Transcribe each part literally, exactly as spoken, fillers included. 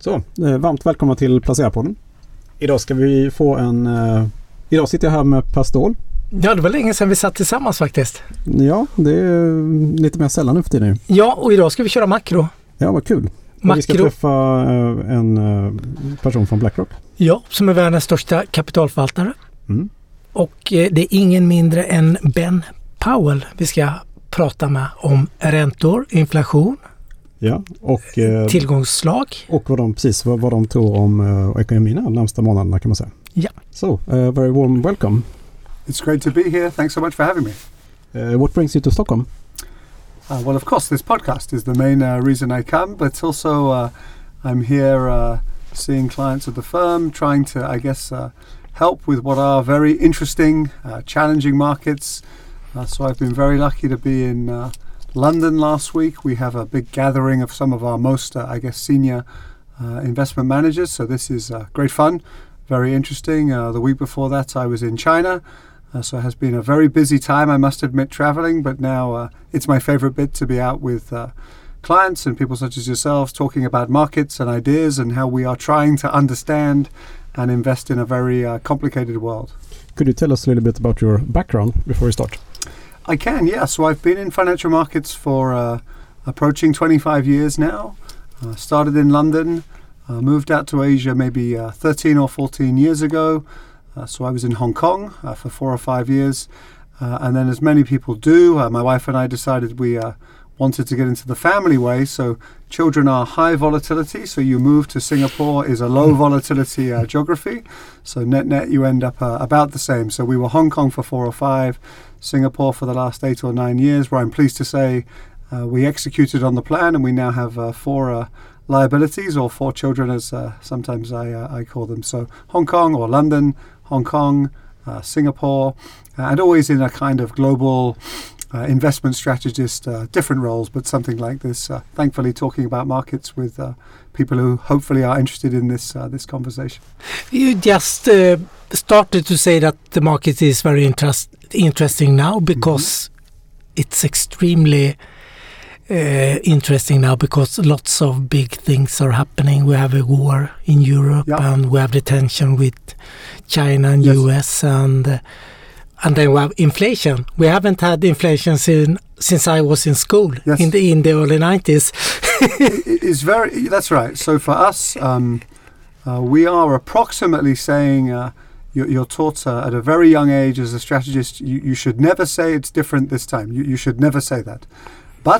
Så, eh, varmt välkomna till Placerarpodden. Idag ska vi få en... Eh, idag sitter jag här med Per Ståhl. Ja, det var länge sedan vi satt tillsammans faktiskt. Ja, det är lite mer sällan nu för tiden. Ja, och idag ska vi köra makro. Ja, vad kul. Makro. Vi ska träffa eh, en eh, person från BlackRock. Ja, som är världens största kapitalförvaltare. Mm. Och eh, det är ingen mindre än Ben Powell vi ska prata med om räntor, inflation, ja, och, eh, tillgångsslag. Och vad de, precis vad, vad de tror om eh, ekonomin de närmsta månaderna kan man säga. Ja. So, uh, very warm welcome. It's great to be here. Thanks so much for having me. Uh, what brings you to Stockholm? Uh, well, of course, this podcast is the main uh, reason I come, but also uh, I'm here uh, seeing clients of the firm, trying to, I guess, uh, help with what are very interesting, uh, challenging markets. Uh, so I've been very lucky to be in uh, London last week. We have a big gathering of some of our most, uh, I guess, senior uh, investment managers. So this is uh, great fun, very interesting. Uh, the week before that, I was in China. Uh, so it has been a very busy time, I must admit, traveling, but now uh, it's my favorite bit to be out with uh, clients and people such as yourselves talking about markets and ideas and how we are trying to understand and invest in a very uh, complicated world. Could you tell us a little bit about your background before we start? I can, yeah. So I've been in financial markets for uh, approaching twenty-five years now. Uh, started in London, uh, moved out to Asia maybe uh, thirteen or fourteen years ago. Uh, so I was in Hong Kong uh, for four or five years. Uh, and then as many people do, uh, my wife and I decided we uh, wanted to get into the family way. So children are high volatility. So you move to Singapore is a low volatility uh, geography. So net net you end up uh, about the same. So we were Hong Kong for four or five, Singapore for the last eight or nine years, where I'm pleased to say uh, we executed on the plan and we now have uh, four uh, liabilities, or four children as uh, sometimes I, uh, I call them. So Hong Kong or London, Hong Kong, uh, Singapore, uh, and always in a kind of global uh, investment strategist, uh, different roles, but something like this. Uh, thankfully, talking about markets with uh, people who hopefully are interested in this uh, this conversation. You just uh, started to say that the market is very interest- interesting now because mm-hmm. it's extremely Uh, interesting now because lots of big things are happening. We have a war in Europe, yeah. and we have the tension with China and yes. U S, and uh, and then we have inflation. We haven't had inflation sin, since I was in school yes. in the in the early nineties. it is very. That's right. So for us, um, uh, we are approximately saying. Uh, You're, you're taught uh, at a very young age as a strategist. You, you should never say it's different this time. You, you should never say that. But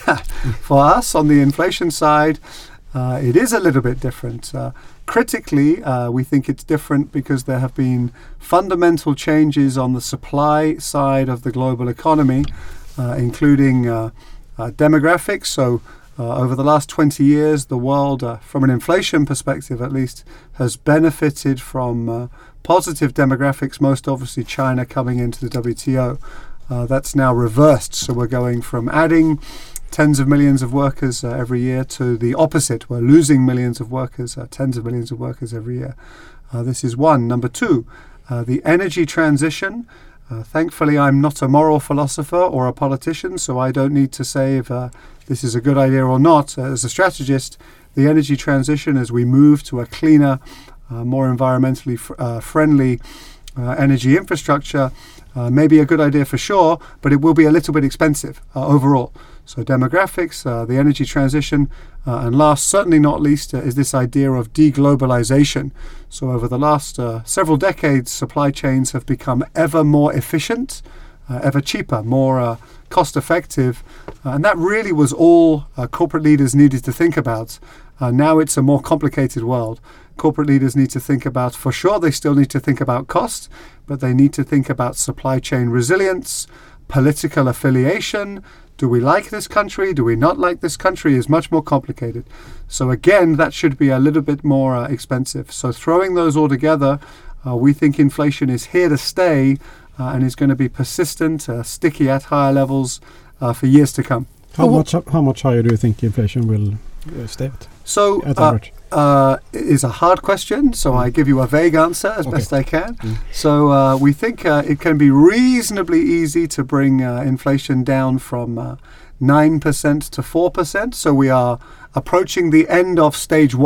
for us on the inflation side, uh, it is a little bit different. Uh, critically, uh, we think it's different because there have been fundamental changes on the supply side of the global economy, uh, including uh, uh, demographics. So uh, over the last twenty years, the world, uh, from an inflation perspective at least, has benefited from uh, positive demographics, most obviously China coming into the W T O. Uh, that's now reversed, so we're going from adding tens of millions of workers uh, every year to the opposite. We're losing millions of workers, uh, tens of millions of workers every year. Uh, this is one. Number two, uh, the energy transition. Uh, thankfully, I'm not a moral philosopher or a politician, so I don't need to say if uh, this is a good idea or not. Uh, as a strategist, the energy transition as we move to a cleaner, uh, more environmentally fr- uh, friendly uh, energy infrastructure Uh, may be a good idea for sure, but it will be a little bit expensive uh, overall. So demographics, uh, the energy transition, uh, and last, certainly not least, uh, is this idea of deglobalization. So over the last uh, several decades, supply chains have become ever more efficient, uh, ever cheaper, more uh, cost effective. Uh, and that really was all uh, corporate leaders needed to think about. Uh, now it's a more complicated world. Corporate leaders need to think about, for sure, they still need to think about cost, but they need to think about supply chain resilience, political affiliation. Do we like this country? Do we not like this country? Is much more complicated. So again, that should be a little bit more uh, expensive. So throwing those all together, uh, we think inflation is here to stay uh, and is going to be persistent, uh, sticky at higher levels uh, for years to come. How oh, much how much higher do you think inflation will uh, stay at? So at uh, uh, it is a hard question, so mm. I give you a vague answer as okay. best I can. Mm. So uh, we think uh, it can be reasonably easy to bring uh, inflation down from uh, nine percent to four percent. So we are approaching the end of stage one.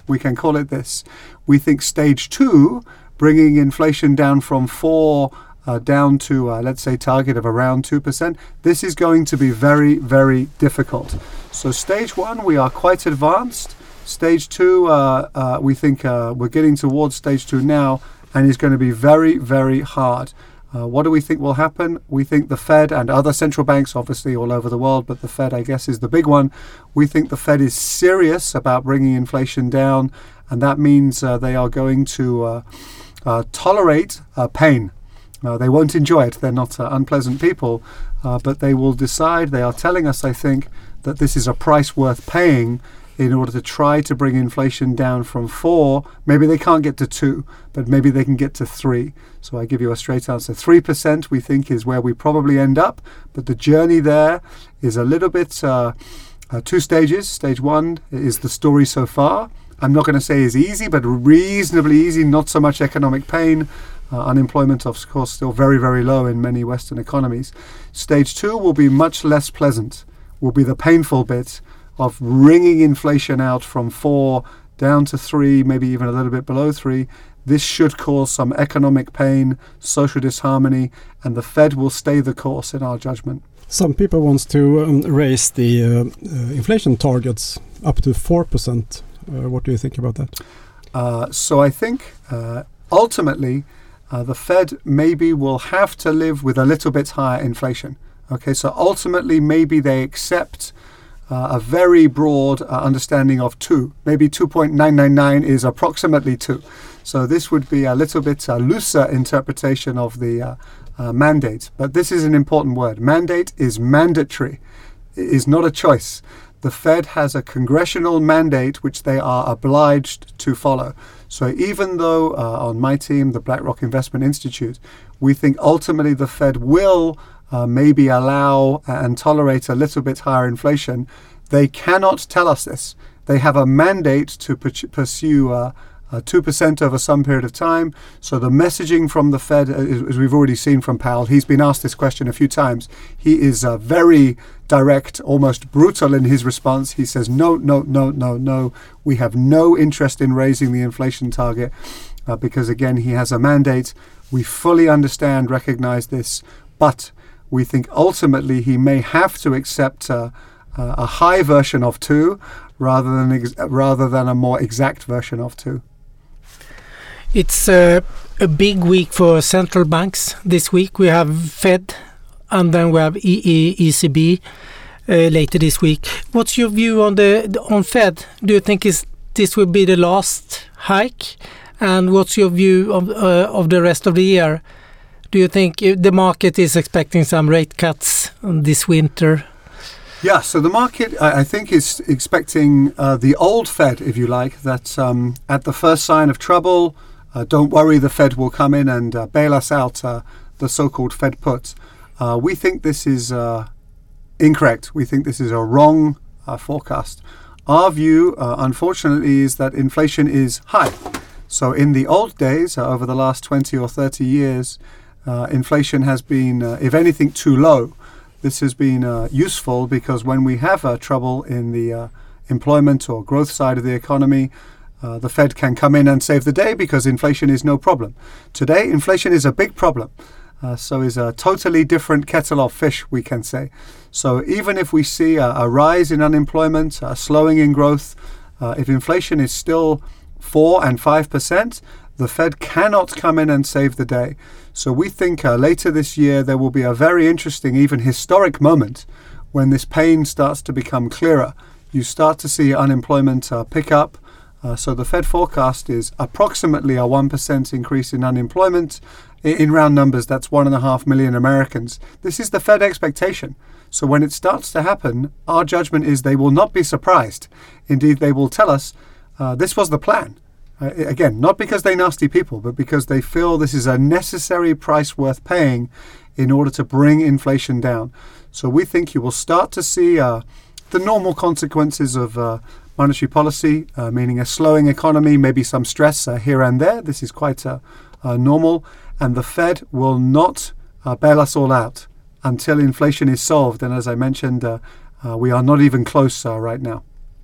We can call it this. We think stage two, bringing inflation down from four uh, down to, uh, let's say, target of around two percent, this is going to be very, very difficult. So stage one, we are quite advanced. Stage two, uh, uh, we think uh, we're getting towards stage two now, and is going to be very, very hard. Uh, what do we think will happen? We think the Fed and other central banks, obviously all over the world, but the Fed, I guess, is the big one. We think the Fed is serious about bringing inflation down, and that means uh, they are going to uh, uh, tolerate uh, pain. Uh, they won't enjoy it. They're not uh, unpleasant people, uh, but they will decide, they are telling us, I think, that this is a price worth paying in order to try to bring inflation down from four. Maybe they can't get to two, but maybe they can get to three. So I give you a straight answer. three percent we think is where we probably end up, but the journey there is a little bit uh, uh, two stages. Stage one is the story so far. I'm not going to say is easy, but reasonably easy, not so much economic pain. Uh, unemployment, of course, still very, very low in many Western economies. Stage two will be much less pleasant, will be the painful bit of wringing inflation out from four down to three, maybe even a little bit below three. This should cause some economic pain, social disharmony, and the Fed will stay the course in our judgment. Some people want to um, raise the uh, uh, inflation targets up to four percent. Uh, what do you think about that? Uh, so I think uh, ultimately uh, the Fed maybe will have to live with a little bit higher inflation. Okay, so ultimately maybe they accept Uh, a very broad uh, understanding of two. Maybe two point nine nine nine is approximately two. So this would be a little bit uh, looser interpretation of the uh, uh, mandate. But this is an important word. Mandate is mandatory. It is not a choice. The Fed has a congressional mandate which they are obliged to follow. So even though uh, on my team, the BlackRock Investment Institute, we think ultimately the Fed will Uh, maybe allow and tolerate a little bit higher inflation, they cannot tell us this. They have a mandate to pu- pursue uh, uh, two percent over some period of time. So the messaging from the Fed, uh, as we've already seen from Powell, he's been asked this question a few times. He is uh, very direct, almost brutal in his response. He says, no, no, no, no, no. We have no interest in raising the inflation target uh, because, again, he has a mandate. We fully understand, recognize this, but we think ultimately he may have to accept uh, uh, a high version of two rather than ex- rather than a more exact version of two. It's uh, a big week for central banks this week. We have Fed and then we have e- e- E C B uh, later this week. What's your view on the on Fed? Do you think is this will be the last hike? And what's your view of uh, of the rest of the year? Do you think the market is expecting some rate cuts this winter? Yeah, so the market, I, I think, is expecting uh, the old Fed, if you like, that um, at the first sign of trouble, uh, don't worry, the Fed will come in and uh, bail us out, uh, the so-called Fed put. Uh, we think this is uh, incorrect. We think this is a wrong uh, forecast. Our view, uh, unfortunately, is that inflation is high. So in the old days, uh, over the last twenty or thirty years, Uh, inflation has been, uh, if anything, too low. This has been uh, useful because when we have uh, trouble in the uh, employment or growth side of the economy, uh, the Fed can come in and save the day because inflation is no problem. Today, inflation is a big problem. Uh, so is a totally different kettle of fish, we can say. So even if we see a, a rise in unemployment, a slowing in growth, uh, if inflation is still four and five percent, the Fed cannot come in and save the day. So we think uh, later this year there will be a very interesting, even historic moment when this pain starts to become clearer. You start to see unemployment uh, pick up. Uh, so the Fed forecast is approximately a one percent increase in unemployment. In, in round numbers, that's one and a half million Americans. This is the Fed expectation. So when it starts to happen, our judgment is they will not be surprised. Indeed, they will tell us uh, this was the plan. Uh, again, not because they're nasty people, but because they feel this is a necessary price worth paying in order to bring inflation down. So we think you will start to see uh, the normal consequences of uh, monetary policy, uh, meaning a slowing economy, maybe some stress uh, here and there. This is quite uh, uh, normal. And the Fed will not uh, bail us all out until inflation is solved. And as I mentioned, uh, uh, we are not even close uh, right now.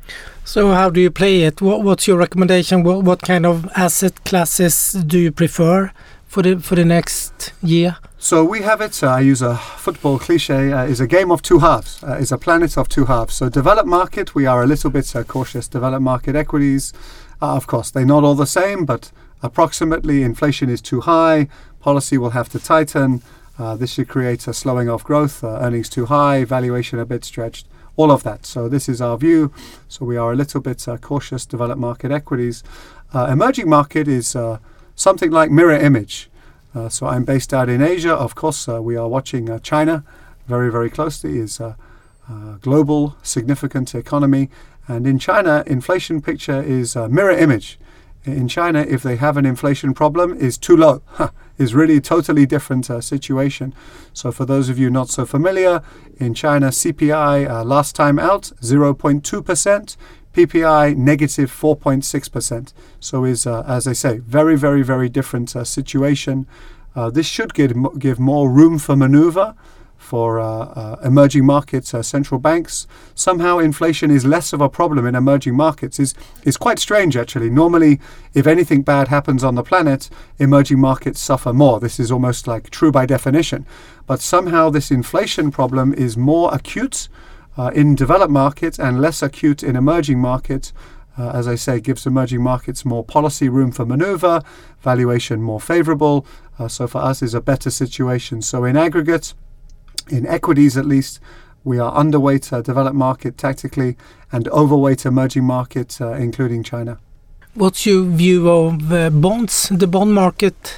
So how do you play it? What, what's your recommendation? What, what kind of asset classes do you prefer for the for the next year? So we have it, uh, I use a football cliche, uh, is a game of two halves, uh, is a planet of two halves. So developed market, we are a little bit uh, cautious. Developed market equities, uh, of course, they're not all the same, but approximately inflation is too high, policy will have to tighten, uh, this should create a slowing of growth, uh, earnings too high, valuation a bit stretched, all of that. So this is our view. So we are a little bit uh, cautious, developed market equities. Uh, emerging market is uh, something like mirror image. Uh, so I'm based out in Asia. Of course, uh, we are watching uh, China very, very closely. Is a uh, uh, global significant economy. And in China, inflation picture is a mirror image. In China, if they have an inflation problem, is too low. Is really totally different uh, situation. So for those of you not so familiar, in China, C P I uh, last time out, zero point two percent. P P I negative four point six percent. So is, uh, as I say, very, very, very different uh, situation. Uh, this should give, give more room for maneuver for uh, uh, emerging markets, uh, central banks. Somehow inflation is less of a problem in emerging markets. Is is quite strange, actually. Normally, if anything bad happens on the planet, emerging markets suffer more. This is almost like true by definition. But somehow this inflation problem is more acute Uh, in developed markets and less acute in emerging markets. Uh, as I say, gives emerging markets more policy room for maneuver, valuation more favorable. Uh, so for us is a better situation. So in aggregate, in equities at least, we are underweight uh, developed market tactically and overweight emerging markets, uh, including China. What's your view of uh, bonds, the bond market?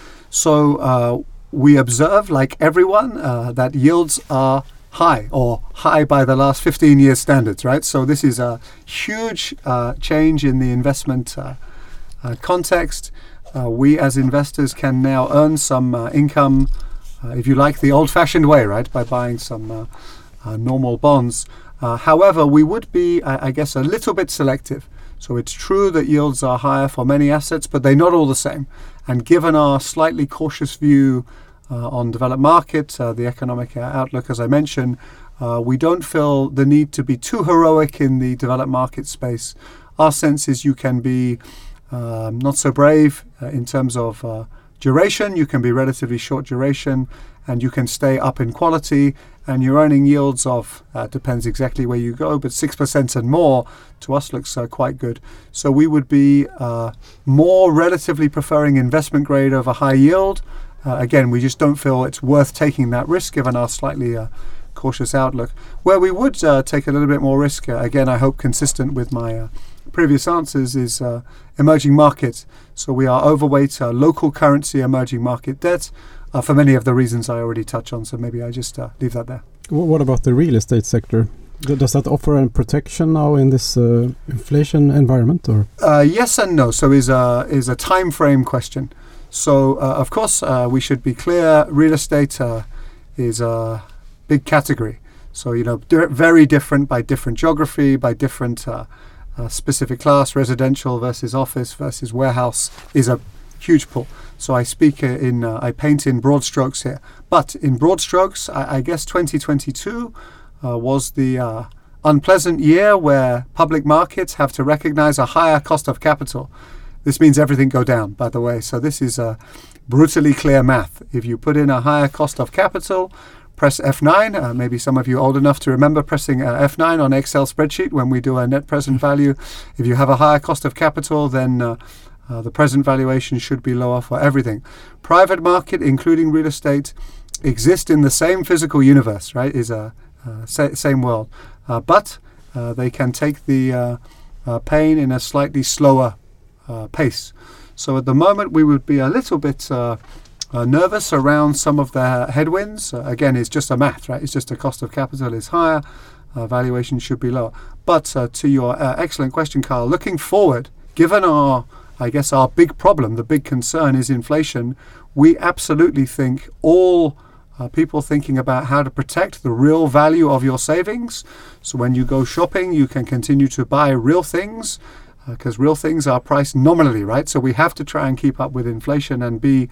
So uh, we observe, like everyone, uh, that yields are high or high by the last fifteen years standards, right? So this is a huge uh, change in the investment uh, uh, context. Uh, we as investors can now earn some uh, income, uh, if you like, the old-fashioned way, right? By buying some uh, uh, normal bonds. Uh, however, we would be, I, I guess, a little bit selective. So it's true that yields are higher for many assets, but they're not all the same. And given our slightly cautious view Uh, on developed markets, uh, the economic uh, outlook, as I mentioned, uh, we don't feel the need to be too heroic in the developed market space. Our sense is you can be um, not so brave uh, in terms of uh, duration. You can be relatively short duration, and you can stay up in quality, and you're earning yields of, uh, depends exactly where you go, but six percent and more to us looks uh, quite good. So we would be uh, more relatively preferring investment grade over high yield. Uh, again, we just don't feel it's worth taking that risk given our slightly uh, cautious outlook. Where we would uh, take a little bit more risk, uh, again, I hope consistent with my uh, previous answers, is uh, emerging markets. So we are overweight uh, local currency emerging market debt uh, for many of the reasons I already touched on. So maybe I just uh, leave that there. What about the real estate sector? Does that offer a protection now in this uh, inflation environment? Or uh, yes and no. So is a is a time frame question. So, uh, of course, uh, we should be clear, real estate uh, is a big category. So, you know, di- very different by different geography, by different uh, uh, specific class, residential versus office versus warehouse is a huge pool. So I speak in, uh, I paint in broad strokes here. But in broad strokes, I, I guess twenty twenty-two uh, was the uh, unpleasant year where public markets have to recognize a higher cost of capital. This means everything go down, by the way. So this is a brutally clear math. If you put in a higher cost of capital, press F nine. Uh, maybe some of you old enough to remember pressing uh, F nine on Excel spreadsheet when we do a net present value. If you have a higher cost of capital, then uh, uh, the present valuation should be lower for everything. Private market, including real estate, exist in the same physical universe, right? Is a uh, sa- same world, uh, but uh, they can take the uh, uh, pain in a slightly slower Uh, pace. So at the moment we would be a little bit uh, uh, nervous around some of the headwinds. Uh, again, it's just a math, right? It's just the cost of capital is higher, uh, valuation should be lower. But uh, to your uh, excellent question, Carl, looking forward, given our, I guess our big problem, the big concern is inflation, we absolutely think all uh, people thinking about how to protect the real value of your savings. So when you go shopping, you can continue to buy real things, because uh, real things are priced nominally, right? So we have to try and keep up with inflation and be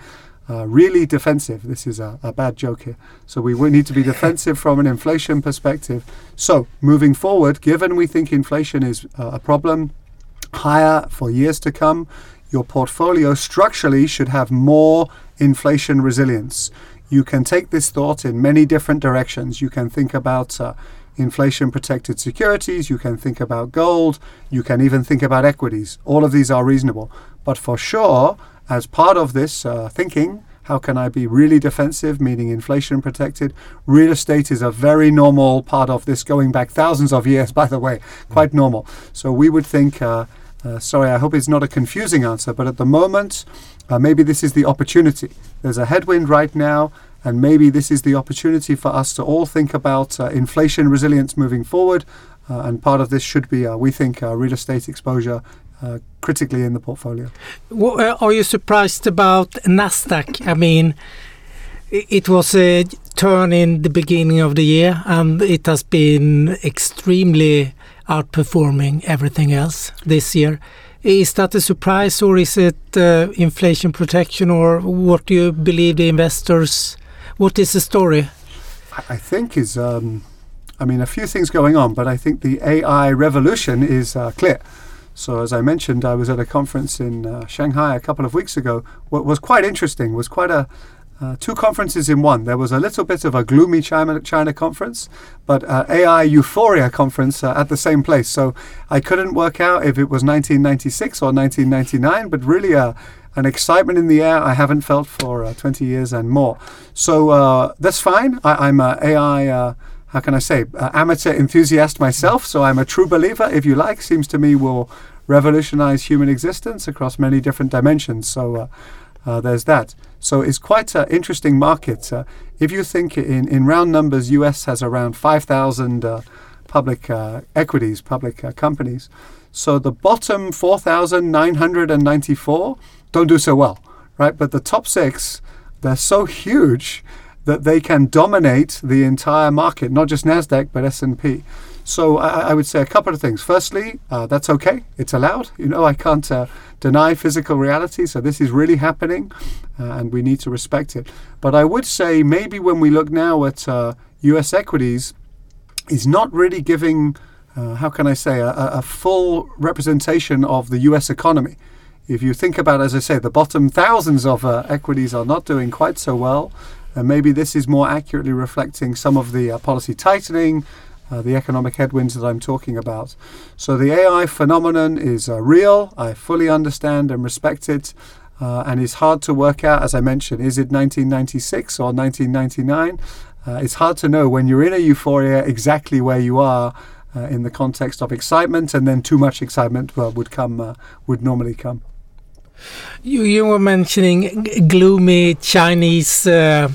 uh, really defensive. This is a, a bad joke here. So we will need to be defensive from an inflation perspective. So moving forward, given we think inflation is uh, a problem higher for years to come, your portfolio structurally should have more inflation resilience. You can take this thought in many different directions. You can think about uh, inflation-protected securities. You can think about gold. You can even think about equities. All of these are reasonable. But for sure, as part of this uh, thinking, how can I be really defensive, meaning inflation-protected? Real estate is a very normal part of this, going back thousands of years, by the way, quite normal. So we would think... Uh, Uh, sorry, I hope it's not a confusing answer, but at the moment, uh, maybe this is the opportunity. There's a headwind right now, and maybe this is the opportunity for us to all think about uh, inflation resilience moving forward. Uh, and part of this should be, uh, we think, uh, real estate exposure uh, critically in the portfolio. Well, uh, are you surprised about Nasdaq? I mean, it was a turn in the beginning of the year, and it has been extremely outperforming everything else this year. Is that a surprise, or is it uh, inflation protection, or what do you believe the investors? What is the story? I think is, um, I mean, a few things going on, but I think the A I revolution is uh, clear. So as I mentioned, I was at a conference in uh, Shanghai a couple of weeks ago. What was quite interesting was quite a Uh, two conferences in one. There was a little bit of a gloomy China, China conference, but uh, A I euphoria conference uh, at the same place. So I couldn't work out if it was nineteen ninety-six or nineteen ninety-nine, but really uh, an excitement in the air I haven't felt for uh, twenty years and more. So uh, that's fine. I, I'm a A I, uh, how can I say, uh, amateur enthusiast myself, so I'm a true believer, if you like. Seems to me will revolutionize human existence across many different dimensions. So uh, uh, there's that. So it's quite an interesting market. Uh, if you think in, in round numbers, U S has around five thousand uh, public uh, equities, public uh, companies. So the bottom four thousand nine hundred ninety-four don't do so well, right? But the top six, they're so huge that they can dominate the entire market, not just Nasdaq, but S and P. So I, I would say a couple of things. Firstly, uh, that's okay. It's allowed. You know, I can't uh, deny physical reality. So this is really happening, uh, and we need to respect it. But I would say maybe when we look now at uh, U S equities, is not really giving, uh, how can I say, a, a full representation of the U S economy. If you think about, as I say, the bottom thousands of uh, equities are not doing quite so well. And maybe this is more accurately reflecting some of the uh, policy tightening, Uh, the economic headwinds that I'm talking about. So the A I phenomenon is uh, real. I fully understand and respect it. Uh, and it's hard to work out, as I mentioned, is it nineteen ninety-six or nineteen ninety-nine? Uh, it's hard to know when you're in a euphoria exactly where you are uh, in the context of excitement, and then too much excitement well, would come, uh, would normally come. You, you were mentioning g- gloomy Chinese uh,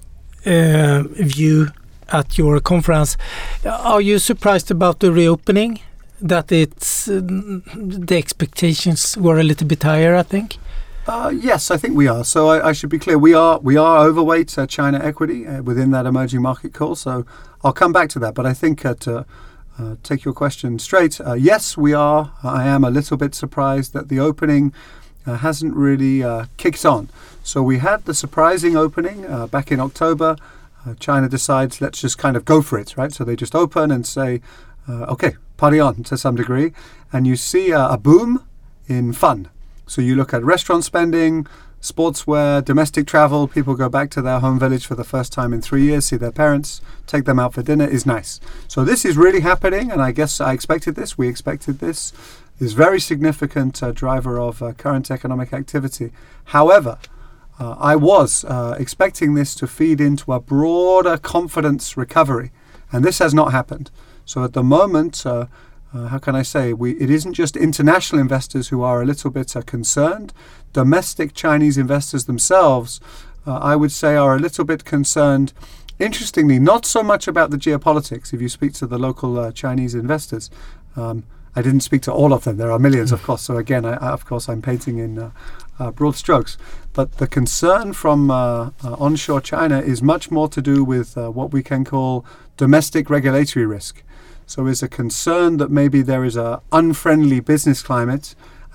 uh, view at your conference. Are you surprised about the reopening? That it's uh, the expectations were a little bit higher, I think. Uh, yes, I think we are. So I, I should be clear. We are we are overweight uh, China equity uh, within that emerging market call. So I'll come back to that. But I think uh, to uh, take your question straight, uh, yes, we are. I am a little bit surprised that the opening uh, hasn't really uh, kicked on. So we had the surprising opening uh, back in October. Uh, China decides, let's just kind of go for it, right? So they just open and say, uh, okay, party on to some degree. And you see uh, a boom in fun. So you look at restaurant spending, sportswear, domestic travel. People go back to their home village for the first time in three years, see their parents, take them out for dinner is nice. So this is really happening. And I guess I expected this. We expected this. Is very significant uh, driver of uh, current economic activity. However, Uh, I was uh, expecting this to feed into a broader confidence recovery, and this has not happened. So at the moment, uh, uh, how can I say, we, it isn't just international investors who are a little bit uh, concerned. Domestic Chinese investors themselves, uh, I would say, are a little bit concerned. Interestingly, not so much about the geopolitics. If you speak to the local uh, Chinese investors, um, I didn't speak to all of them. There are millions, of course. So again, I, I, of course, I'm painting in uh, uh, broad strokes. But the concern from uh, uh, onshore China is much more to do with uh, what we can call domestic regulatory risk. So is a concern that maybe there is a unfriendly business climate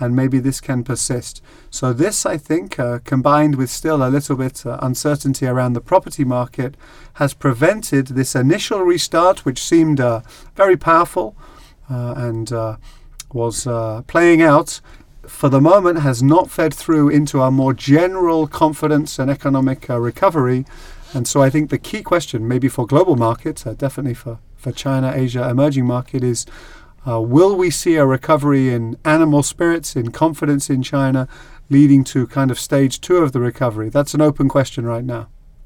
and maybe this can persist. So this, I think, uh, combined with still a little bit uh, uncertainty around the property market, has prevented this initial restart, which seemed uh, very powerful uh, and uh, was uh, playing out. For the moment, has not fed through into our more general confidence and economic uh, recovery. And so I think the key question, maybe for global markets, uh, definitely for, for China, Asia, emerging market, is uh, will we see a recovery in animal spirits, in confidence in China, leading to kind of stage two of the recovery? That's an open question right now.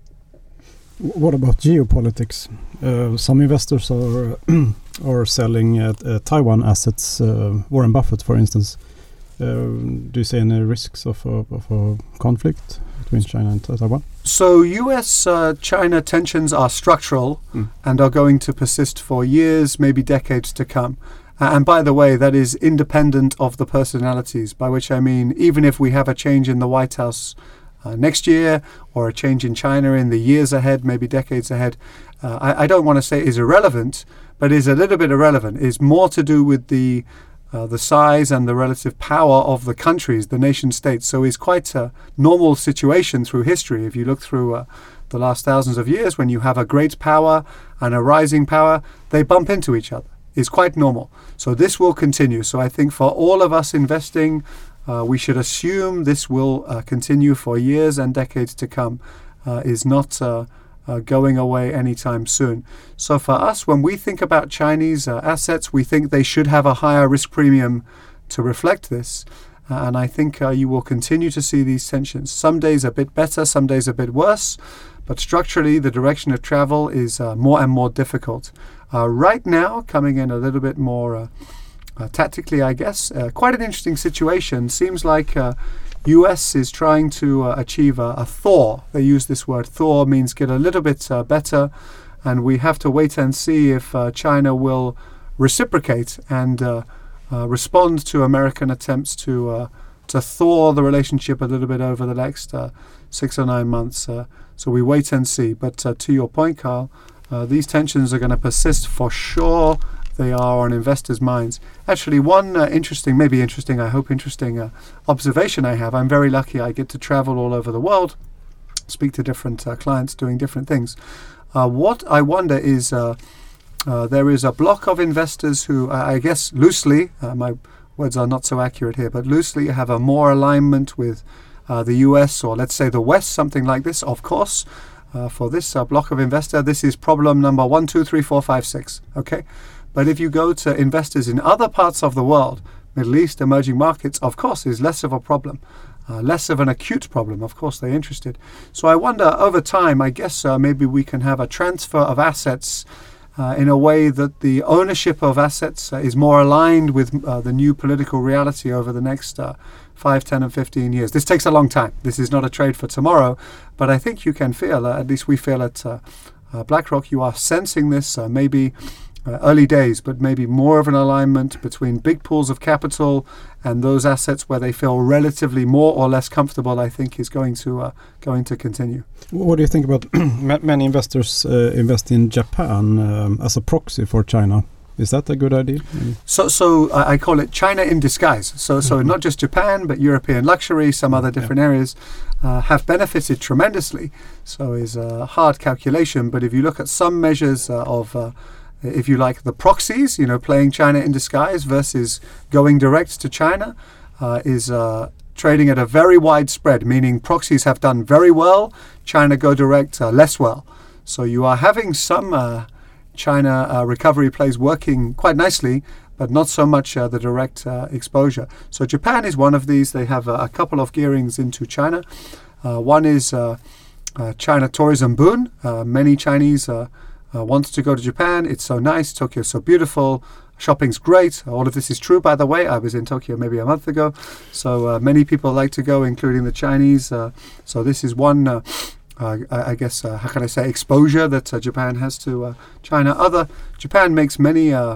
What about geopolitics? Uh, some investors are are selling uh, uh, Taiwan assets. Uh, Warren Buffett, for instance. Uh, do you see any risks of a, of a conflict between China and Taiwan? So U S uh, China tensions are structural mm. and are going to persist for years, maybe decades to come. Uh, and by the way, that is independent of the personalities, by which I mean even if we have a change in the White House uh, next year, or a change in China in the years ahead, maybe decades ahead, uh, I, I don't want to say is irrelevant, but is a little bit irrelevant. Is more to do with the Uh, the size and the relative power of the countries, the nation states. So it's quite a normal situation through history. If you look through uh, the last thousands of years, when you have a great power and a rising power, they bump into each other. It's quite normal. So this will continue. So I think for all of us investing, uh, we should assume this will uh, continue for years and decades to come. Uh, is not uh, Uh, going away anytime soon. So for us, when we think about Chinese uh, assets, we think they should have a higher risk premium to reflect this. Uh, and I think uh, you will continue to see these tensions. Some days a bit better, some days a bit worse. But structurally, the direction of travel is uh, more and more difficult. Uh, right now, coming in a little bit more uh, uh, tactically, I guess, uh, quite an interesting situation. Seems like uh, U S is trying to uh, achieve a, a thaw. They use this word. Thaw means get a little bit uh, better, and we have to wait and see if uh, China will reciprocate and uh, uh, respond to American attempts to uh, to thaw the relationship a little bit over the next uh, six or nine months. Uh, so we wait and see. But uh, to your point, Carl, uh, these tensions are going to persist for sure. They are on investors' minds. Actually, one uh, interesting, maybe interesting, I hope interesting uh, observation I have. I'm very lucky. I get to travel all over the world, speak to different uh, clients doing different things. Uh, what I wonder is uh, uh, there is a block of investors who, uh, I guess loosely, uh, my words are not so accurate here, but loosely have a more alignment with uh, the U S or let's say the West, something like this, of course. Uh, for this uh, block of investor, this is problem number one, two, three, four, five, six. Okay. But if you go to investors in other parts of the world, Middle East, emerging markets, of course, is less of a problem, uh, less of an acute problem. Of course, they're interested. So I wonder, over time, I guess uh, maybe we can have a transfer of assets uh, in a way that the ownership of assets uh, is more aligned with uh, the new political reality over the next uh, five, ten, and fifteen years. This takes a long time. This is not a trade for tomorrow. But I think you can feel, uh, at least we feel at uh, uh, BlackRock, you are sensing this, uh, maybe Uh, early days, but maybe more of an alignment between big pools of capital and those assets where they feel relatively more or less comfortable, I think is going to uh, going to continue. What do you think about many investors uh, invest in Japan um, as a proxy for China? Is that a good idea? Mm. So, so uh, I call it China in disguise. So, so mm-hmm. not just Japan, but European luxury, some other different yeah. areas uh, have benefited tremendously. So is a hard calculation. But if you look at some measures uh, of uh, if you like, the proxies, you know, playing China in disguise versus going direct to China, uh, is uh, trading at a very wide spread, meaning proxies have done very well, China go direct uh, less well. So you are having some uh, China uh, recovery plays working quite nicely, but not so much uh, the direct uh, exposure. So Japan is one of these. They have uh, a couple of gearings into China. Uh, one is uh, uh, China Tourism Boom. Uh, many Chinese uh, Uh, wants to go to Japan. It's so nice. Tokyo's so beautiful. Shopping's great. All of this is true, by the way. I was in Tokyo maybe a month ago. So uh, many people like to go, including the Chinese. Uh, so this is one, uh, uh, I guess, uh, how can I say, exposure that uh, Japan has to uh, China. Other, Japan makes many uh,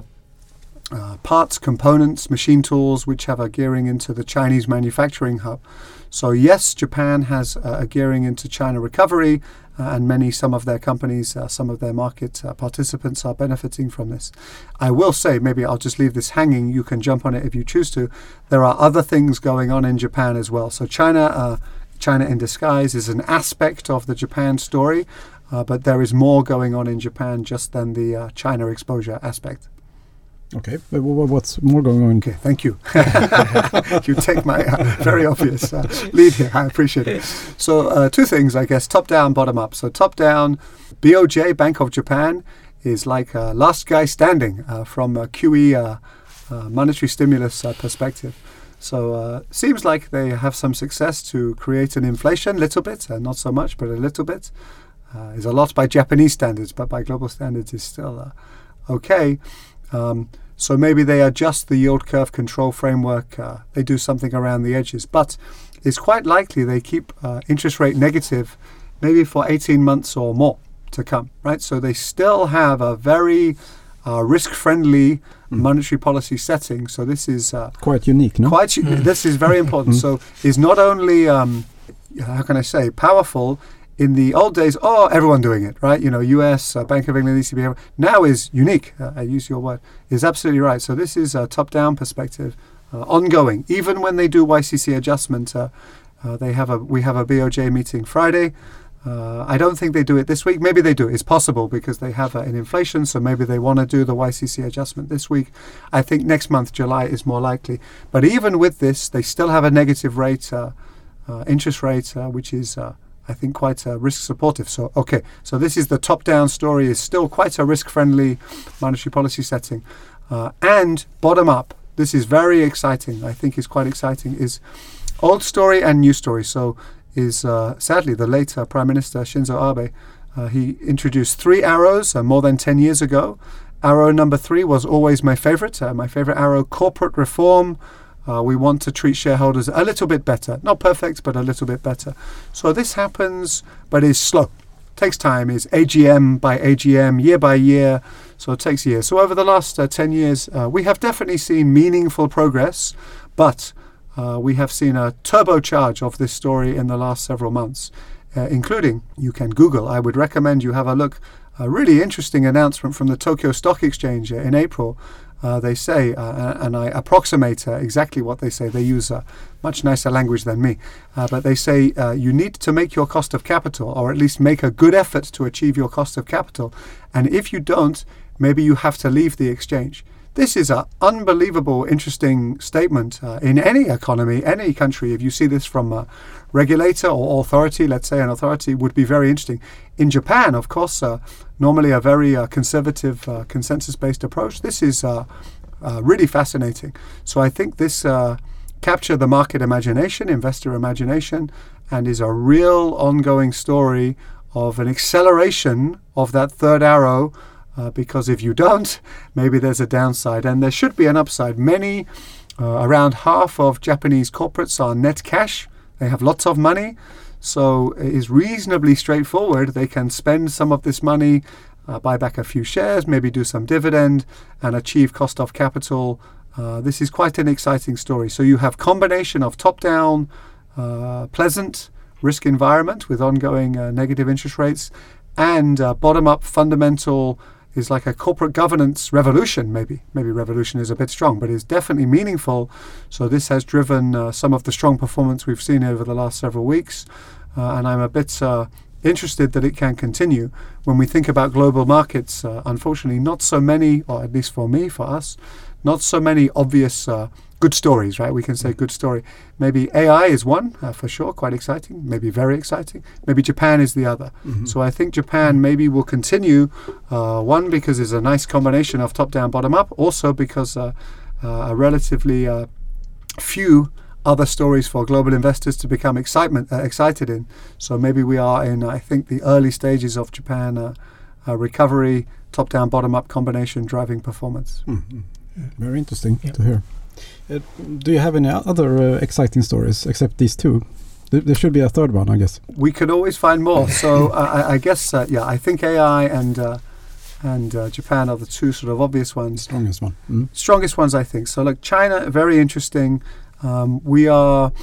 uh, parts, components, machine tools, which have a gearing into the Chinese manufacturing hub. So yes, Japan has uh, a gearing into China recovery, uh, and many, some of their companies, uh, some of their market uh, participants are benefiting from this. I will say, maybe I'll just leave this hanging. You can jump on it if you choose to. There are other things going on in Japan as well. So China, uh, China in disguise is an aspect of the Japan story, uh, but there is more going on in Japan just than the uh, China exposure aspect. Okay, but what's more going on? Okay, thank you. You take my uh, very obvious uh, lead here. I appreciate it. So uh, two things, I guess, top down, bottom up. So top down, B O J, Bank of Japan, is like uh, last guy standing uh, from a Q E uh, uh, monetary stimulus uh, perspective. So uh, seems like they have some success to create an inflation, little bit, uh, not so much, but a little bit. Uh, is a lot by Japanese standards, but by global standards is still uh, okay. Um, so maybe they adjust the yield curve control framework. Uh, they do something around the edges, but it's quite likely they keep uh, interest rate negative maybe for eighteen months or more to come, right? So they still have a very uh, risk-friendly mm. monetary policy setting. So this is uh, quite unique, no? Quite. Mm. This is very important. So is not only um, how can I say powerful. In the old days, oh, everyone doing it, right? You know, U S, uh, Bank of England, E C B, now is unique. Uh, I use your word. Is absolutely right. So this is a top-down perspective, uh, ongoing. Even when they do Y C C adjustment, uh, uh, they have a we have a B O J meeting Friday. Uh, I don't think they do it this week. Maybe they do. It's possible because they have uh, an inflation, so maybe they want to do the Y C C adjustment this week. I think next month, July, is more likely. But even with this, they still have a negative rate, uh, uh, interest rate, uh, which is Uh, I think quite uh, risk supportive. So, okay, so this is the top-down story, is still quite a risk-friendly monetary policy setting. Uh, and bottom-up, this is very exciting, I think is quite exciting, is old story and new story. So is, uh, sadly, the late uh, Prime Minister Shinzo Abe, uh, he introduced three arrows uh, more than ten years ago. Arrow number three was always my favorite, uh, my favorite arrow, corporate reform. Uh, we want to treat shareholders a little bit better. Not perfect, but a little bit better. So this happens, but is slow. Takes time. Is A G M by A G M, year by year. So it takes years. So over the last uh, ten years, uh, we have definitely seen meaningful progress, but uh, we have seen a turbocharge of this story in the last several months, uh, including, you can Google, I would recommend you have a look, a really interesting announcement from the Tokyo Stock Exchange uh, in April. Uh, they say, uh, and I approximate uh, exactly what they say. They use uh, much nicer language than me. Uh, but they say uh, you need to make your cost of capital, or at least make a good effort to achieve your cost of capital. And if you don't, maybe you have to leave the exchange. This is an unbelievable, interesting statement uh, in any economy, any country. If you see this from a regulator or authority, let's say an authority, would be very interesting. In Japan, of course, uh, normally a very uh, conservative, uh, consensus-based approach. This is uh, uh, really fascinating. So I think this uh, captured the market imagination, investor imagination, and is a real ongoing story of an acceleration of that third arrow. Uh, because if you don't, maybe there's a downside, and there should be an upside. Many, uh, around half of Japanese corporates are net cash. They have lots of money, so it is reasonably straightforward. They can spend some of this money, uh, buy back a few shares, maybe do some dividend, and achieve cost of capital. Uh, this is quite an exciting story. So you have combination of top-down, uh, pleasant risk environment with ongoing uh, negative interest rates, and uh, bottom-up fundamental is like a corporate governance revolution, maybe. Maybe revolution is a bit strong, but it's definitely meaningful. So this has driven uh, some of the strong performance we've seen over the last several weeks. Uh, and I'm a bit uh, interested that it can continue. When we think about global markets, uh, unfortunately, not so many, or at least for me, for us, not so many obvious uh, good stories, right? We can say good story. Maybe A I is one, uh, for sure, quite exciting, maybe very exciting. Maybe Japan is the other. Mm-hmm. So I think Japan maybe will continue, uh, one, because it's a nice combination of top-down, bottom-up, also because uh, uh, a relatively uh, few other stories for global investors to become excitement uh, excited in. So maybe we are in, I think, the early stages of Japan uh, uh, recovery, top-down, bottom-up combination driving performance. Mm-hmm. Yeah. Very interesting yep. to hear. Uh, do you have any other uh, exciting stories except these two? Th- there should be a third one, I guess. We could always find more. So uh, I, I guess, uh, yeah, I think A I and uh, and uh, Japan are the two sort of obvious ones. Strongest one. Mm. Strongest ones, I think. So like China, very interesting. Um, we are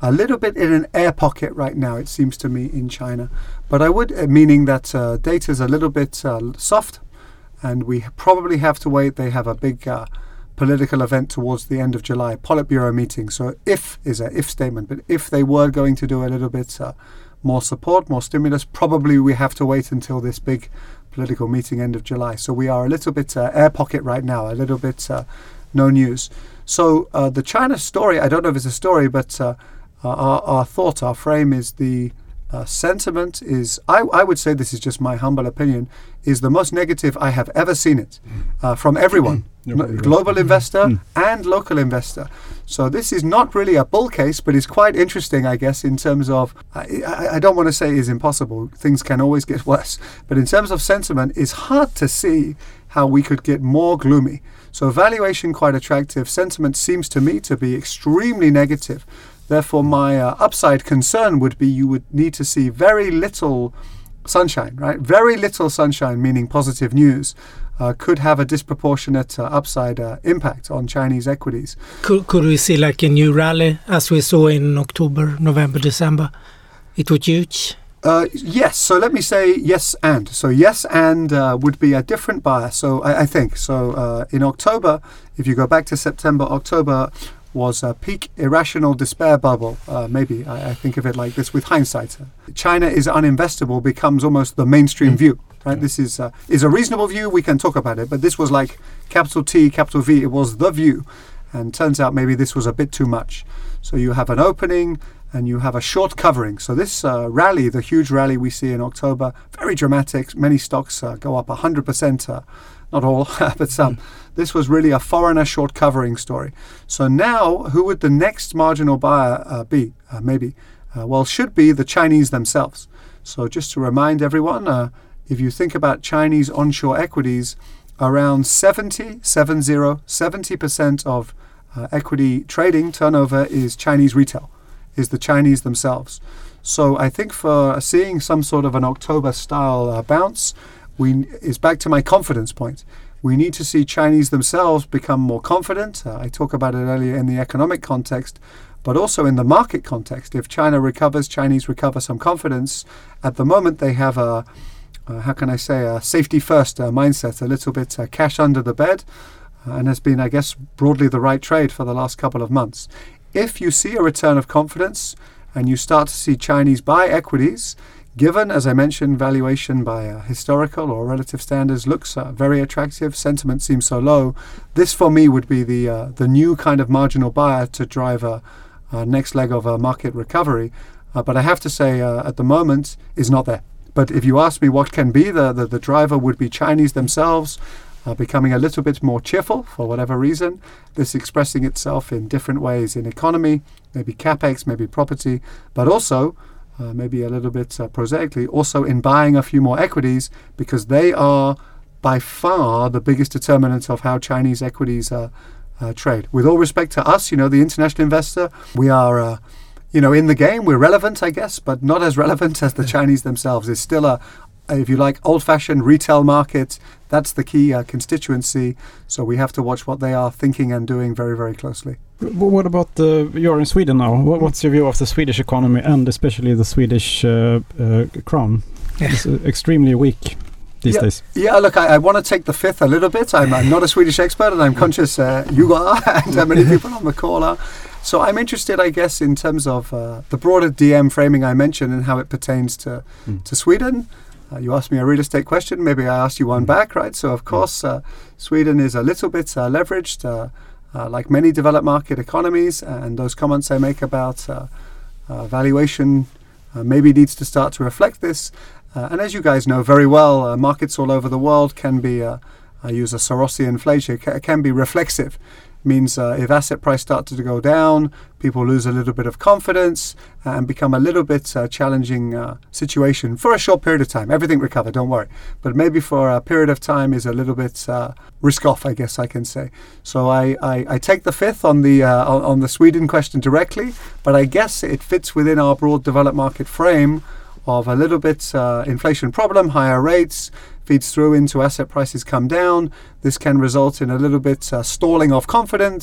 a little bit in an air pocket right now, it seems to me, in China. But I would, uh, meaning that uh, data is a little bit uh, soft, and we probably have to wait. They have a big uh, political event towards the end of July, Politburo meeting. So if is a if statement, but if they were going to do a little bit uh, more support, more stimulus, probably we have to wait until this big political meeting end of July. So we are a little bit uh, air pocket right now, a little bit uh, no news. So uh, the China story, I don't know if it's a story, but uh, our, our thought, our frame is the uh, sentiment is, I, I would say, this is just my humble opinion, is the most negative I have ever seen it uh, from everyone, no, global investor mm. and local investor. So this is not really a bull case, but it's quite interesting, I guess, in terms of, I, I, I don't want to say is impossible. Things can always get worse. But in terms of sentiment, it's hard to see how we could get more gloomy. So valuation quite attractive. Sentiment seems to me to be extremely negative. Therefore, my uh, upside concern would be you would need to see very little sunshine, right? Very little sunshine, meaning positive news, uh, could have a disproportionate uh, upside uh, impact on Chinese equities. Could, could we see like a new rally as we saw in October, November, December? It was huge. Uh, yes. So let me say yes and. So yes and uh, would be a different bias. So I, I think. So uh, in October, if you go back to September, October was a peak irrational despair bubble. Uh, maybe I, I think of it like this with hindsight. China is uninvestable becomes almost the mainstream mm. view. Right. Yeah. This is uh, is a reasonable view. We can talk about it, but this was like capital T, capital V. It was the view, and turns out maybe this was a bit too much. So you have an opening and you have a short covering. So this uh, rally, the huge rally we see in October, very dramatic. Many stocks uh, go up one hundred percent. Uh, not all, but some. Mm. This was really a foreigner short covering story. So now, who would the next marginal buyer uh, be? Uh, maybe. Uh, well, should be the Chinese themselves. So just to remind everyone, uh, if you think about Chinese onshore equities, around seventy, seven zero, seventy percent of uh, equity trading turnover is Chinese retail, is the Chinese themselves. So I think for seeing some sort of an October-style uh, bounce, we is back to my confidence point. We need to see Chinese themselves become more confident. Uh, I talked about it earlier in the economic context, but also in the market context. If China recovers, Chinese recover some confidence. At the moment, they have a, uh, how can I say, a safety-first uh, mindset, a little bit uh, cash under the bed, uh, and has been, I guess, broadly the right trade for the last couple of months. If you see a return of confidence and you start to see Chinese buy equities, given, as I mentioned, valuation by uh, historical or relative standards looks uh, very attractive, sentiment seems so low, this for me would be the uh, the new kind of marginal buyer to drive a, a next leg of a market recovery. Uh, but I have to say, uh, at the moment, is not there. But if you ask me what can be, the, the, the driver would be Chinese themselves, uh, becoming a little bit more cheerful for whatever reason. This expressing itself in different ways in economy, maybe capex, maybe property, but also Uh, maybe a little bit uh, prosaically, also in buying a few more equities, because they are by far the biggest determinant of how Chinese equities uh, uh, trade. With all respect to us, you know, the international investor, we are, uh, you know, in the game. We're relevant, I guess, but not as relevant as the Chinese themselves. It's still a, if you like, old-fashioned retail market. That's the key uh, constituency. So we have to watch what they are thinking and doing very, very closely. What about the, you're in Sweden now. What's your view of the Swedish economy and especially the Swedish uh, uh, crown? Yeah. It's uh, extremely weak these yeah, days. Yeah, look, I, I want to take the fifth a little bit. I'm, I'm not a Swedish expert, and I'm conscious uh, you are, and uh, many people on the call are. So I'm interested, I guess, in terms of uh, the broader D M framing I mentioned and how it pertains to, mm. to Sweden. Uh, you asked me a real estate question. Maybe I asked you one back, right? So, of course, uh, Sweden is a little bit uh, leveraged, uh, uh, like many developed market economies. And those comments I make about uh, uh, valuation uh, maybe needs to start to reflect this. Uh, and as you guys know very well, uh, markets all over the world can be, uh, I use a Sorosian phrase, ca- can be reflexive. Means uh, if asset price starts to go down, people lose a little bit of confidence uh, and become a little bit uh, challenging uh, situation for a short period of time. Everything recover, don't worry. But maybe for a period of time is a little bit uh, risk off, I guess I can say. So I, I, I take the fifth on the uh, on, on the Sweden question directly, but I guess it fits within our broad developed market frame of a little bit uh, inflation problem, higher rates, feeds through into asset prices come down. This can result in a little bit uh, stalling of confidence,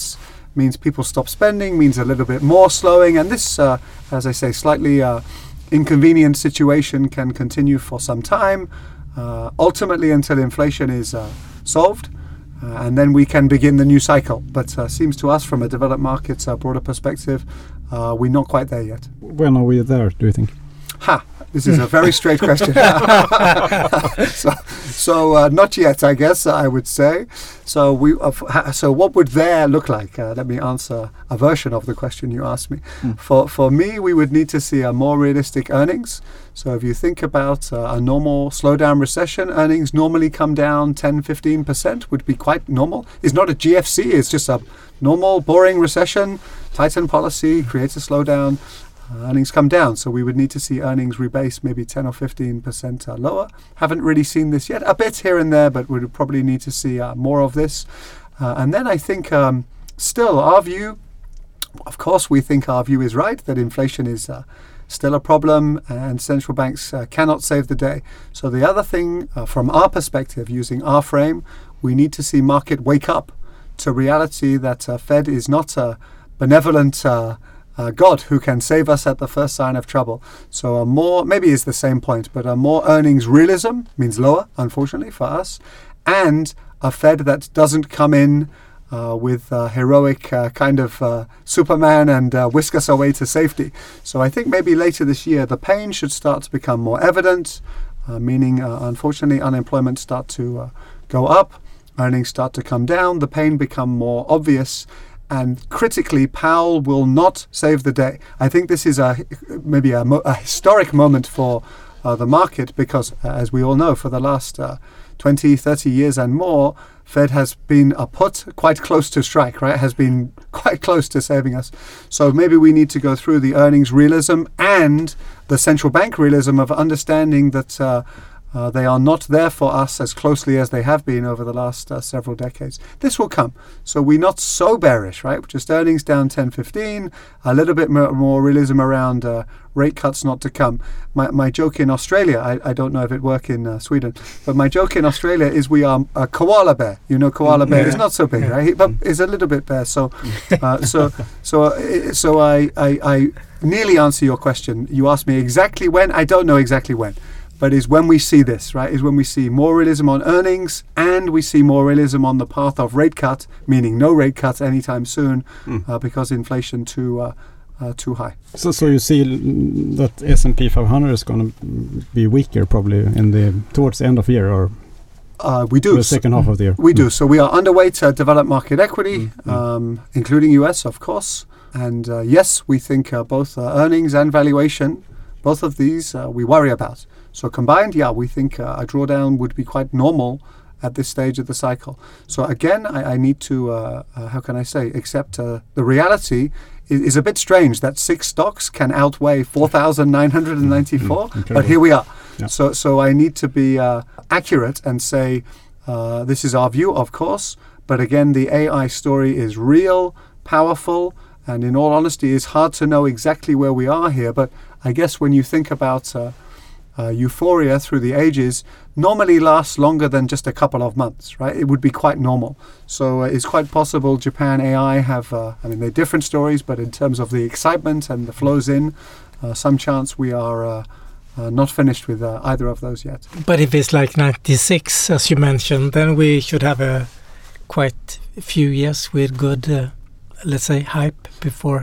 means people stop spending, means a little bit more slowing, and this, uh, as I say, slightly uh, inconvenient situation can continue for some time, uh, ultimately until inflation is uh, solved, uh, and then we can begin the new cycle. But uh, seems to us, from a developed markets uh, broader perspective, uh, we're not quite there yet. When are we there, do you think? Ha! This is a very straight question. so, so uh, not yet, I guess I would say. So we. Uh, ha, so what would there look like? Uh, let me answer a version of the question you asked me. Mm. For for me, we would need to see a more realistic earnings. So if you think about uh, a normal slowdown recession, earnings normally come down ten, fifteen percent would be quite normal. It's not a G F C. It's just a normal, boring recession. Tighten policy creates a slowdown. Uh, earnings come down, so we would need to see earnings rebase maybe ten or fifteen percent uh, lower. Haven't really seen this yet. A bit here and there, but we would probably need to see uh, more of this. Uh, and then I think um, still our view, of course we think our view is right, that inflation is uh, still a problem and central banks uh, cannot save the day. So the other thing uh, from our perspective, using our frame, we need to see market wake up to reality that uh, Fed is not a benevolent uh, Uh, God who can save us at the first sign of trouble. So a more, maybe it's the same point, but a more earnings realism means lower, unfortunately for us, and a Fed that doesn't come in uh, with uh, heroic uh, kind of uh, Superman and uh, whisk us away to safety. So I think maybe later this year the pain should start to become more evident, uh, meaning uh, unfortunately unemployment start to uh, go up, earnings start to come down, the pain become more obvious. And critically, Powell will not save the day. I think this is a maybe a, mo- a historic moment for uh, the market because, uh, as we all know, for the last uh, twenty, thirty years and more, Fed has been a put quite close to strike, right? Has been quite close to saving us. So maybe we need to go through the earnings realism and the central bank realism of understanding that uh, Uh, they are not there for us as closely as they have been over the last uh, several decades. This will come. So we're not so bearish, right? Just earnings down ten, fifteen, a little bit more, more realism around uh, rate cuts not to come. My, my joke in Australia, I, I don't know if it works in uh, Sweden, but my joke in Australia is we are a koala bear. You know, koala bear yeah. is not so big, right? He, but it's a little bit bear. So, uh, so, so, uh, so I, I, I nearly answer your question. You asked me exactly when. I don't know exactly when. But is when we see this, right, is when we see more realism on earnings and we see more realism on the path of rate cut, meaning no rate cuts anytime soon mm. uh, because inflation too uh, uh, too high. So so you see that S and P five hundred is going to be weaker probably in the towards the end of the year or uh, we do the second so, half of the year? We mm. do. So we are underweight uh, developed market equity, mm. um, including U S, of course. And uh, yes, we think uh, both uh, earnings and valuation, both of these uh, we worry about. So combined, yeah, we think uh, a drawdown would be quite normal at this stage of the cycle. So again, I, I need to, uh, uh, how can I say, accept uh, the reality is, is a bit strange that six stocks can outweigh four thousand nine hundred ninety-four, mm, but here we are. Yeah. So so I need to be uh, accurate and say uh, this is our view, of course, but again, the A I story is real, powerful, and in all honesty, it's hard to know exactly where we are here. But I guess when you think about uh, Uh, euphoria through the ages normally lasts longer than just a couple of months, right? It would be quite normal. So uh, it's quite possible Japan A I have, uh, I mean, they're different stories, but in terms of the excitement and the flows in, uh, some chance we are uh, uh, not finished with uh, either of those yet. But if it's like ninety-six, as you mentioned, then we should have a quite few years with good, uh, let's say, hype before.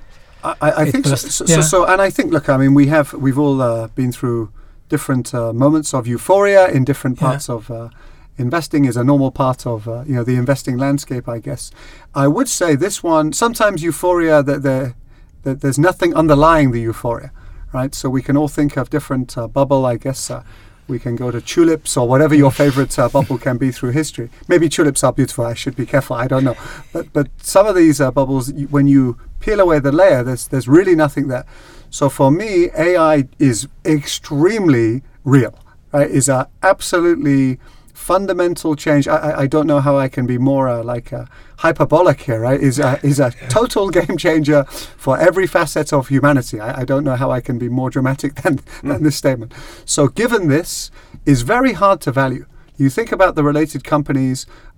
I, I think so, so, yeah. so. So, and I think, look, I mean, we have, we've all uh, been through different uh, moments of euphoria in different parts yeah. of uh, investing is a normal part of, uh, you know, the investing landscape, I guess. I would say this one, sometimes euphoria, that there, that there's nothing underlying the euphoria, right? So we can all think of different uh, bubble, I guess. Uh, we can go to tulips or whatever your favorite uh, bubble can be through history. Maybe tulips are beautiful. I should be careful. I don't know. But but some of these uh, bubbles, when you peel away the layer, there's there's really nothing there. So for me, A I is extremely real, right? Is a absolutely fundamental change. I, I, I don't know how I can be more uh, like uh, hyperbolic here, right? Is a, is a total game changer for every facet of humanity. I, I don't know how I can be more dramatic than, mm. than this statement. So given this, is very hard to value. You think about the related companies,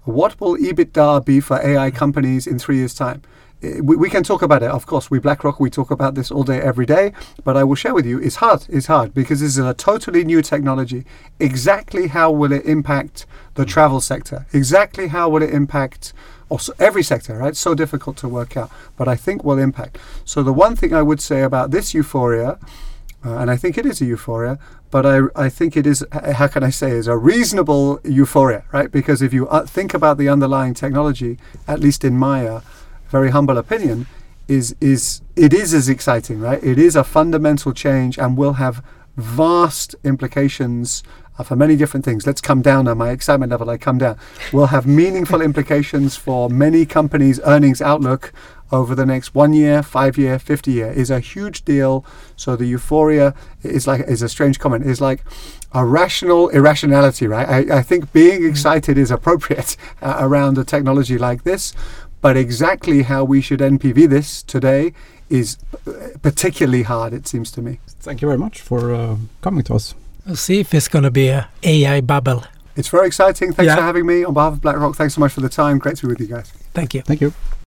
what will EBITDA be for A I companies in three years' time? We, we can talk about it, of course. We BlackRock, we talk about this all day, every day. But I will share with you, it's hard. It's hard because this is a totally new technology. Exactly how will it impact the travel sector? Exactly how will it impact also every sector, right? So difficult to work out, but I think will impact. So the one thing I would say about this euphoria, uh, and I think it is a euphoria, but I, I think it is, how can I say, is a reasonable euphoria, right? Because if you uh, think about the underlying technology, at least in my uh, very humble opinion, is is it is as exciting, right? It is a fundamental change and will have vast implications uh, for many different things. Let's come down on my excitement level. I come down. Will have meaningful implications for many companies' earnings outlook over the next one year, five year, fifty year. Is a huge deal. So the euphoria is like is a strange comment. Is like a rational irrationality, right? I, I think being excited is appropriate uh, around a technology like this. But exactly how we should N P V this today is particularly hard, it seems to me. Thank you very much for uh, coming to us. We'll see if it's going to be a A I bubble. It's very exciting. Thanks Yeah. for having me. On behalf of BlackRock, thanks so much for the time. Great to be with you guys. Thank you. Thank you.